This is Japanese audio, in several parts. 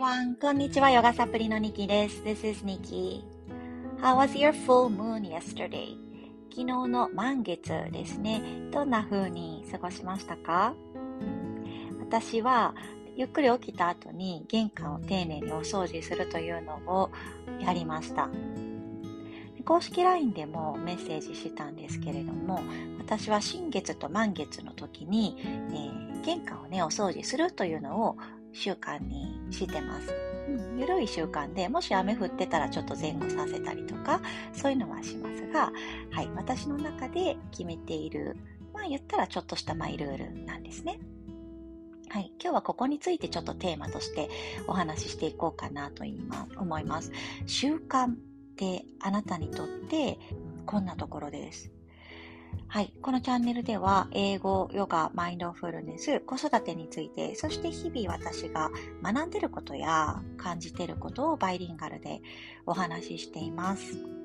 everyone. こんにちは、ヨガサプリのニキです。This is Nikki. How was your full moon yesterday? 昨日の満月ですね。どんな風に過ごしましたか？私はゆっくり起きた後に玄関を丁寧にお掃除するというのをやりました。公式 LINE でもメッセージしたんですけれども、私は新月と満月の時に、玄関をねお掃除するというのを習慣にしてます。ゆるい習慣で、もし雨降ってたらちょっと前後させたりとか、そういうのはしますが、はい、私の中で決めている、言ったらちょっとしたマイルールなんですね。はい、今日はここについてちょっとテーマとしてお話ししていこうかなと思います。習慣ってあなたにとってこんなところです。はい、このチャンネルでは英語、ヨガ、マインドフルネス、子育てについて、そして日々私が学んでいることや感じていることをバイリンガルでお話ししています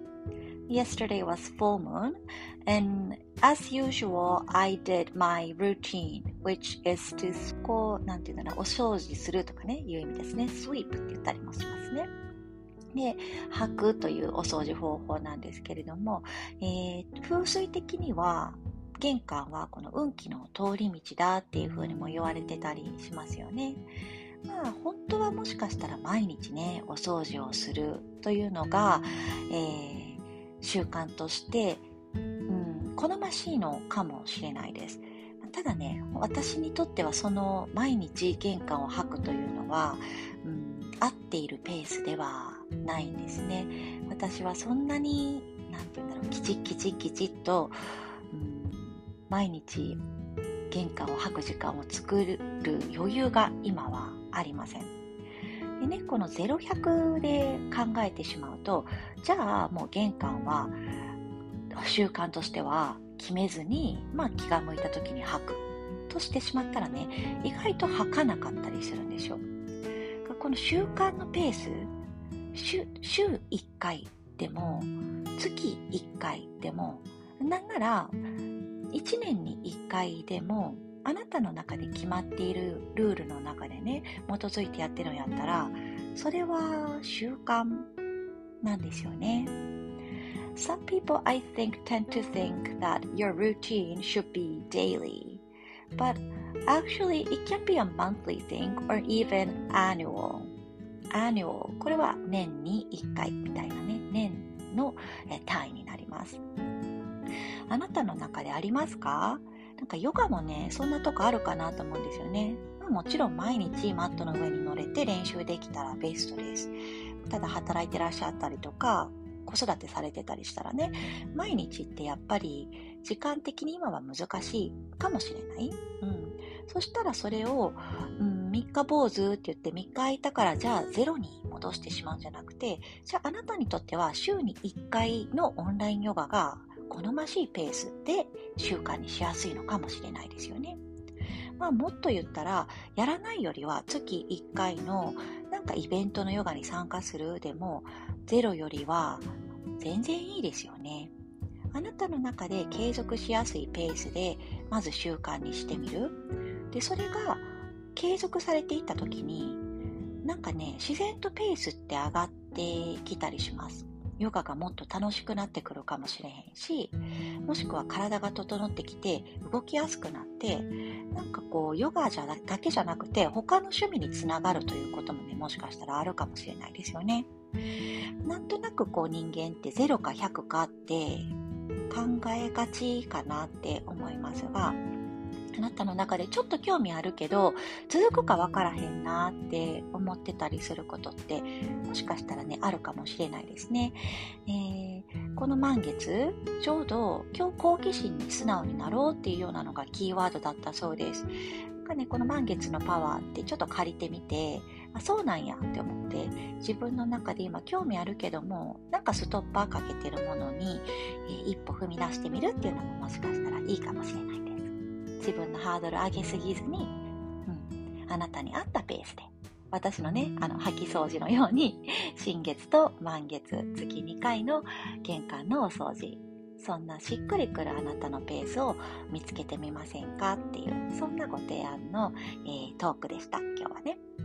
。Yesterday was full moon, and as usual, I did my routine, which is to なんていうのかな、お掃除するとかね、いう意味ですね。sweep って言ったりもしますね。で、掃くというお掃除方法なんですけれども、風水的には玄関はこの運気の通り道だっていうふうにも言われてたりしますよね。本当はもしかしたら毎日ねお掃除をするというのが、習慣として、好ましいのかもしれないです。ただね、私にとってはその毎日玄関を掃くというのは、合っているペースではないんですね。私はそんなにきちっと、毎日玄関を掃く時間を作る余裕が今はありません。でね、この0-100で考えてしまうと、じゃあもう玄関は習慣としては決めずに、気が向いた時に掃くとしてしまったらね、意外と掃かなかったりするんでしょ。この習慣のペース、週1回でも月1回でも、なんなら1年に1回でも、あなたの中で決まっているルールの中でね基づいてやってるのやったら、それは習慣なんですよね。Some people I think tend to think that your routine should be daily, but actually it can be a monthly thing or even annual. これは年に1回みたいなね、年の単位になります。あなたの中でありますか？ヨガもね、そんなとこあるかなと思うんですよね。もちろん毎日マットの上に乗れて練習できたらベストです。ただ働いてらっしゃったりとか、子育てされてたりしたらね、毎日ってやっぱり時間的に今は難しいかもしれない。そしたらそれを、3日坊主って言って3日空いたからじゃあゼロに戻してしまうんじゃなくて、じゃああなたにとっては週に1回のオンラインヨガが好ましいペースで習慣にしやすいのかもしれないですよね。もっと言ったら、やらないよりは月1回のイベントのヨガに参加するでも、ゼロよりは全然いいですよね。あなたの中で継続しやすいペースでまず習慣にしてみる。で、それが継続されていった時に、自然とペースって上がってきたりします。ヨガがもっと楽しくなってくるかもしれへんし、もしくは体が整ってきて動きやすくなって、ヨガだけじゃなくて他の趣味につながるということもね、もしかしたらあるかもしれないですよね。なんとなく人間って0か100かって考えがちかなって思いますが、あなたの中でちょっと興味あるけど続くかわからへんなって思ってたりすることってもしかしたらねあるかもしれないですね。この満月ちょうど今日好奇心に素直になろうっていうようなのがキーワードだったそうです。この満月のパワーってちょっと借りてみて、そうなんやって思って自分の中で今興味あるけどもストッパーかけてるものに、一歩踏み出してみるっていうのももしかしたらいいかもしれないです。自分のハードル上げすぎずに、あなたに合ったペースで、私のね掃き掃除のように新月と満月月2回の玄関のお掃除、そんなしっくりくるあなたのペースを見つけてみませんかっていう、そんなご提案の、トークでした今日はね。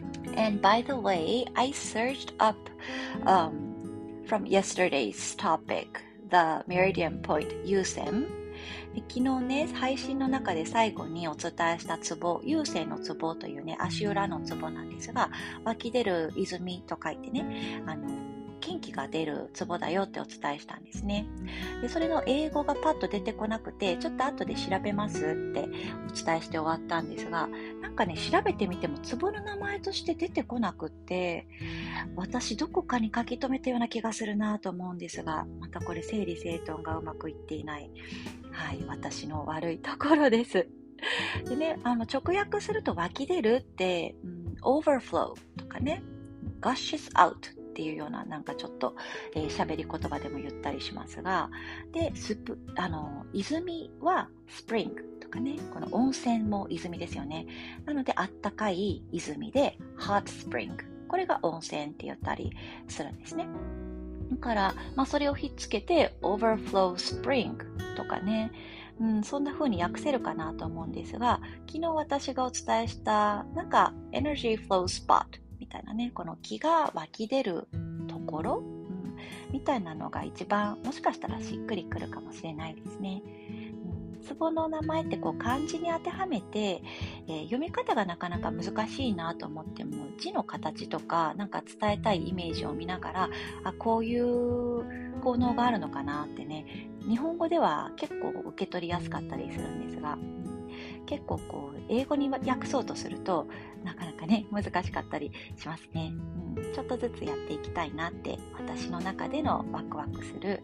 And by the way, I searched up from yesterday's topic, the Meridian Point 優線。昨日ね、配信の中で最後にお伝えしたツボ、優勢のツボというね、足裏のツボなんですが、湧き出る泉と書いてね、元気が出るツボだよってお伝えしたんですね。で、それの英語がパッと出てこなくて、ちょっと後で調べますってお伝えして終わったんですが、なんかね、調べてみてもツボの名前として出てこなくって、私どこかに書き留めたような気がするなと思うんですが、またこれ整理整頓がうまくいっていない、はい、私の悪いところです。でね、直訳すると湧き出るって、overflow とかね、gushes out っていうようななんかちょっと喋り言葉でも言ったりしますが、で、泉は spring とかね、この温泉も泉ですよね。なのであったかい泉で hot spring、 これが温泉って言ったりするんですね。だから、それをひっつけて overflow spring とかね、そんな風に訳せるかなと思うんですが、昨日私がお伝えしたなんか energy flow spot みたいなね、この気が湧き出るところ、みたいなのが一番もしかしたらしっくりくるかもしれないですね。ツボの名前ってこう漢字に当てはめて、読み方がなかなか難しいなと思っても、字の形とかなんか伝えたいイメージを見ながら、こういう効能があるのかなってね、日本語では結構受け取りやすかったりするんですが、結構こう英語に訳そうとするとなかなかね難しかったりしますね。ちょっとずつやっていきたいなって私の中でのワクワクする、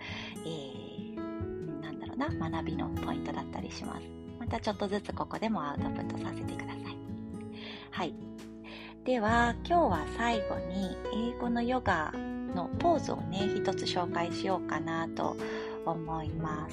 学びのポイントだったりします。またちょっとずつここでもアウトプットさせてください。はい。では今日は最後に英語のヨガのポーズをね一つ紹介しようかなと思います。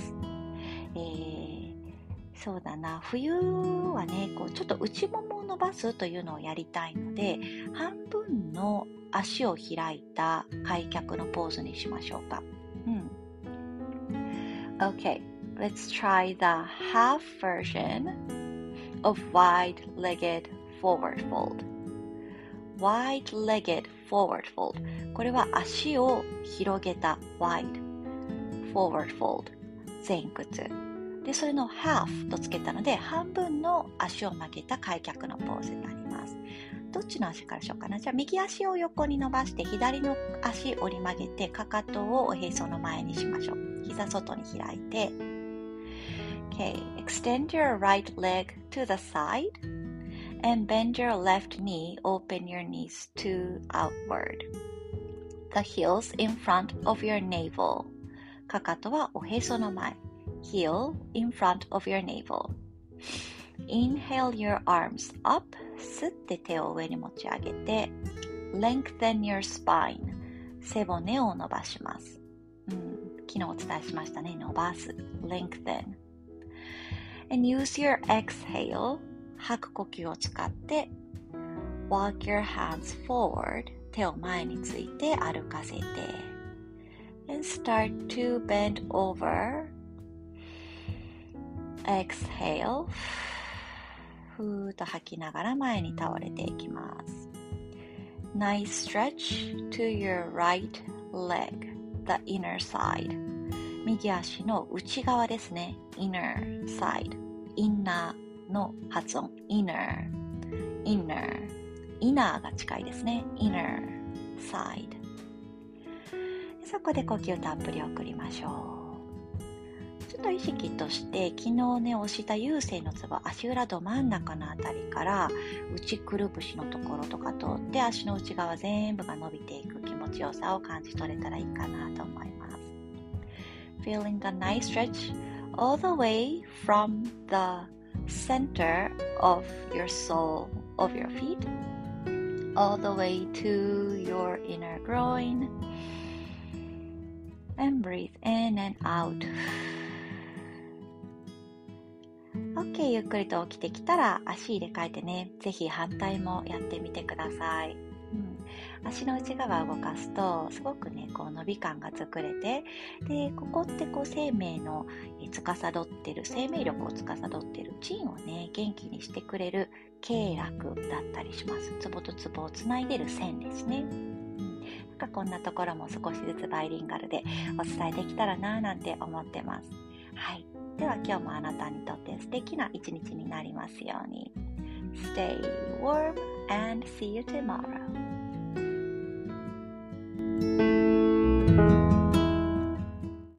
そうだな、冬はねこうちょっと内ももを伸ばすというのをやりたいので、半分の足を開いた開脚のポーズにしましょうか。Okay, let's try the half version of wide-legged forward fold. Wide-legged forward fold. これは足を広げた wide forward fold 前屈で、それの half とつけたので半分の足を曲げた開脚のポーズになります。どっちの足からしようかな。じゃあ右足を横に伸ばして左の足折り曲げてかかとをおへその前にしましょう。膝外に開いて Okay, extend your right leg to the side and bend your left knee, open your knees to outward. The heels in front of your navel. かかとはおへその前。Heel in front of your navel. Inhale your arms up. 吸って手を上に持ち上げて Lengthen your spine. 背骨を伸ばします。昨日お伝えしましたね。伸ばす。Lengthen. And use your exhale. 吐く呼吸を使って Walk your hands forward. 手を前について歩かせて And start to bend over. Exhale. ふーっと吐きながら前に倒れていきます。Nice stretch to your right leg, the inner side. 右足の内側ですね。inner side. インナーの発音。inner. inner が近いですね。inner side. そこで呼吸たっぷり送りましょう。ちょっと意識として昨日ね押した優勢のツボ、足裏ど真ん中のあたりから内くるぶしのところとか通って足の内側全部が伸びていく気持ちよさを感じ取れたらいいかなと思います。Feeling the nice stretch all the way from the center of your sole of your feet all the way to your inner groin and breathe in and out.OK、ゆっくりと起きてきたら足入れ替えてね、ぜひ反対もやってみてください。 足の内側を動かすとすごくねこう伸び感が作れて、でここってこう生命の司ってる、生命力を司ってる腎をね元気にしてくれる経絡だったりします。ツボとツボをつないでる線ですね。なんかこんなところも少しずつバイリンガルでお伝えできたらななんて思ってます。はい、では今日もあなたにとって素敵な一日になりますように。Stay warm and see you tomorrow.